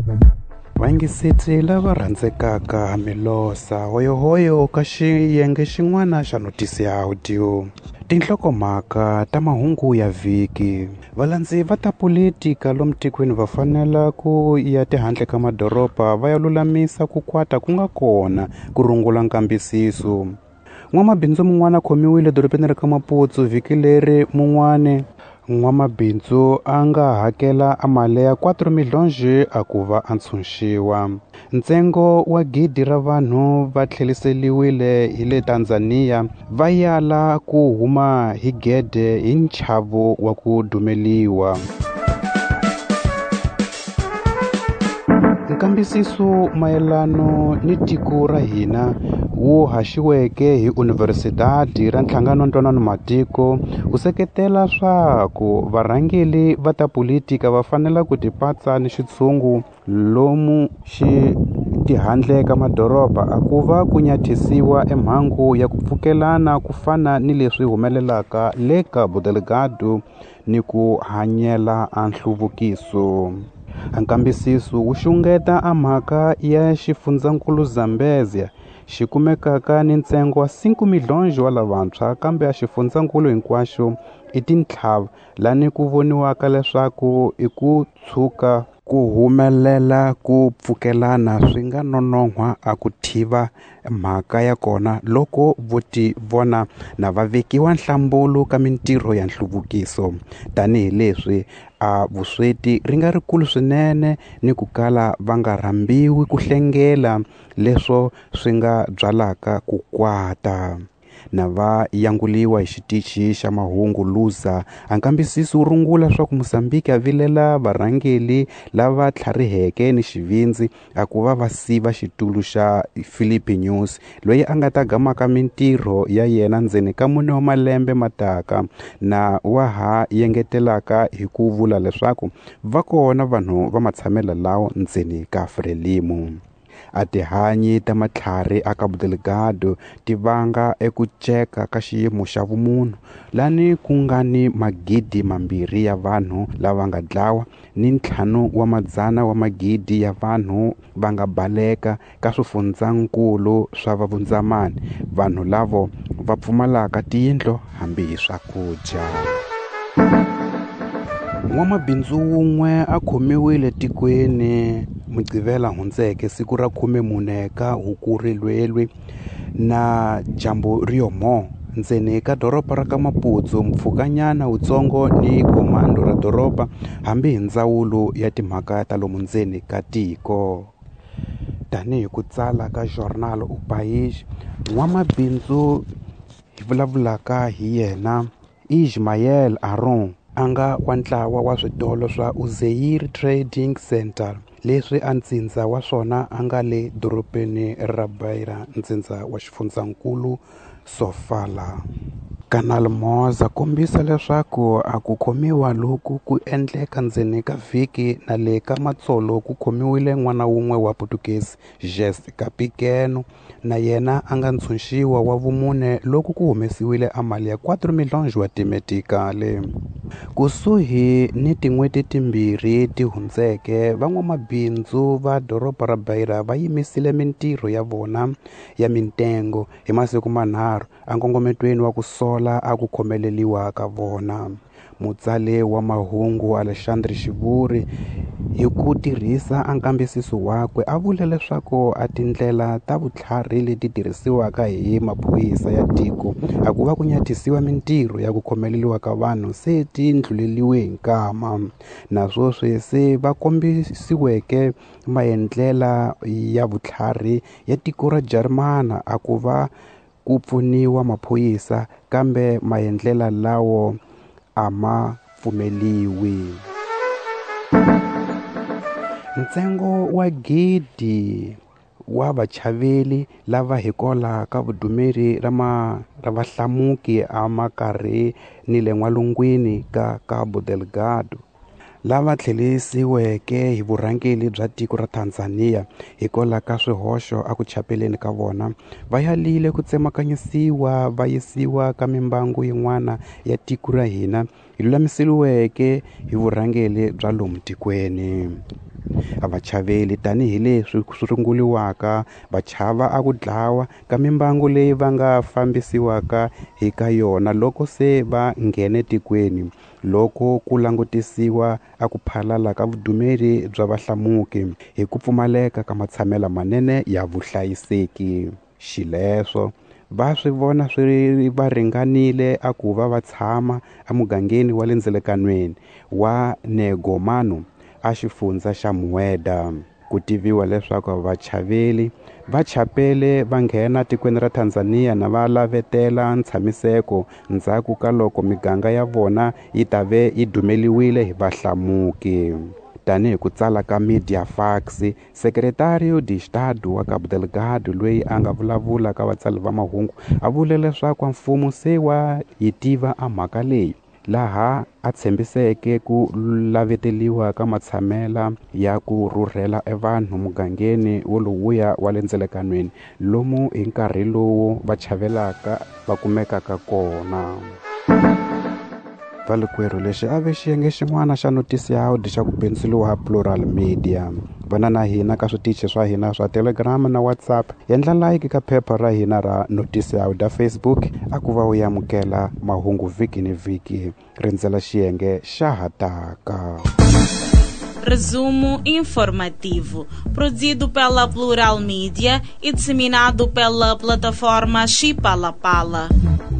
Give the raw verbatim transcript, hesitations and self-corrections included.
Vayingiseri lava rhandzekaka milosa hoyohoyo ka xiyenge xin'wana xa notisi ya audio. Tinhlokomhaka ta mahungu ya vhiki. Valandzi va ta politika lomu tikweni va fanela ku ya tihandle ka madoroba va ya lulamisa ku kwata ku nga kona ku rungula nkambisiso. N'wamabindzu mun'wana khomiwile dorobeni ra ka Maputo vhiki leri mun'wana n'wamabindzu a nga hakela a mali ya kwatro milhonji a ku va a ntshunxiwa. Ntsengo wa gidi ra vanhu va tlheriseriwile hi le Tanzania va yala ku huma hi gede hi nchavo wa ku dumeliwa. Nkambisiso mayelano ni tiko ra hina wu haxiweke hi Universidade ra Nhlangano Ntwanano Matiko wu seketela swa ku varhangeli va ta politika va fanela ku tipatsa ni xitshungu lomu xi tihandle ka madoroba a ku va ku nyathisiwa emhangu ya ku pfukelana ku fana ni leswi humelelaka le Cabo Delgado ni ku hanyela a nhluvukiso. Nkambisiso wu xungeta a mhaka ya xifundzankulu Zambezia xi kumekaka ni ntsengo wa cinco milhonji wa lavantshwa kambe a xifundzankulu hinkwaxo i tintlhava lani ku voniwaka leswaku i ku tshuka ku humelela ku pfukelana swi nga nonohwa a ku thiva mhaka ya kona loko vo ti vona na va vekiwa nhlambulo ka mintirho ya nhluvukiso tanihileswi a vusweti ri nga rikulu swinene ni ku kala va nga rhambiwi ku hlengela leswo swi nga byalaka ku kwata. Na va yanguliwa hi xitichi xa mahungu Luza nkambisiso wu rungula swa ku Mozambique a vilela varhangeli lava tlhariheke ni xivindzi a ku va va siva xitulu xa Philippe News loyi a nga ta gamaka mintirho ya yena ndzeni ka mune wa malembe mataka na wa ha yengetelaka hi ku vula leswaku va kona vanhu va matshamela lawo ndzeni ka Frelimo. A tihanyi ta matlhari a Cabo Delgado ti vanga eku ceka ka xiyimo xa vumunhu lani ku nga ni magidi mambirhi ya vanhu lava nga dlawa ni ntlhanu wa madzana wa magidi ya vanhu va nga baleka ka swifundzankulu swa vavundzamani vanhu lavo va pfumalaka tiyindlo hambi hi swakudya. N'wamabindzu wun'we a khomiwile tikweni Muqhivela hundzeke siku ra khume mune ka Hukuri na dyambu riyomo ndzeni ka doroba ra ka Maputo mpfhukanyana wutsongo ni komando ra doroba hambi hi ndzawulo ya timhaka ta lomu ndzeni ka tiko. Tanihi ku tsala ka Jornal O País, n'wamabindzu hi vulavulaka hi yena Ismael Aron a nga wa ntlawa wa switolo swa Uzeir Trading Center leswi a ntsindza wa swona a nga le dorobeni ra Beira ntsindza wa xifundzankulu Sofala. Kanal Moza kombisa leswaku a ku khomiwa loku ku endleka ndzeni ka vhiki na le ka matsolo ku khomiwile n'wana wun'we wa Portuguese Jessica Pequeno na yena a nga ntshunxiwa wa vumune loku ku humesiwile a mali ya kwatro milhonji wa timetikale. Kusuhi ni tin'hweti timbirhi ti hundzeke van'wamabindzu va doroba ra Beira va yimisile mintirho ya vona ya mitengo hi masiku manharhu enkongometweni wa ku sola a ku khomeleliwa ka vona. Mutsale wa mahungu Alexandre Xivuri hi ku tirhisa nkambisiso wakwe a vula leswaku a tindlela ta vutlhari leti tirhisiwaka hi maphorisa ya tiko a ku va ku nyathisiwa mintirho ya ku khomeleliwa ka vanhu se ti ndluleliwe hi nkama naswo sweswi va kombisiweke maendlela ya vutlhari ya tiko ra Jermana a ku va ku pfuniwa maphorisa kambe maendlela lawo a ma pfumeliwi. Ntsengo wa gidi wa vachaveli lava hi kola ka vudumeri ra ma ra vahlamuki a makarhi ni le n'walungwini ka Cabo Delgado lava tlhelisiweke hi vurhangeli bya tiko ra Tanzania hikola ka swihoxo a ku chapeleni ka vona va yalile ku tsemakanyisiwa va yisiwa ka mimbangu yin'wana ya tiko ra hina hi lulamiseliweke hi vurhangeli bya lomu tikweni. vachaveli tanihileswi ku sunguliwaka va chava a ku dlawa ka mimbangu leyi va nga fambisiwaka hi ka yona loko se va nghene tikweni, loko ku langutisiwa a ku phalala ka vudumeri bya vahlamuki hi ku pfumaleka ka matshamelo manene ya vuhlayiseki. Xileswo va swi vona swi va ringanile a ku va va tshama emugangeni wa le ndzelekanweni wa Negomano a xifundza xa Mueda. Ku tiviwa leswaku vachaveli va chapele va nghena tikweni ra Tanzania na va lavetela ntshamiseko ndzhaku ka loko miganga ya vona yi ta ve yi dumeliwile hi vahlamuki. Tanihi ku tsala ka Mediafax, Secretario de Estado wa Cabo Delgado loyi a nga vulavula ka vatsali va mahungu a vule leswaku mfumo se wa yi tiva a mhaka leyi, laha a tshembiseke ku laveteliwa ka matshamela ya ku rhurhela e vanhu mugangeni wolowuya wa le ndzelekanweni lomu hi nkarhi lowu va chavelaka va kumekaka kona. Valikwerhu lexi a ve xiyenge xin'wana xa notisi ya audio xa ku pendzeliwa Plural Media. Vana na hina ka switichi swa hina swa Telegram na WhatsApp, endla like ka phepha ra hina ra notisi ya audio Facebook a ku va u yamukela mahungu vhiki ni vhiki. Rindzela xiyenge xa hataka. Resumo informativo, produzido pela Plural Media e disseminado pela plataforma Chipalapala.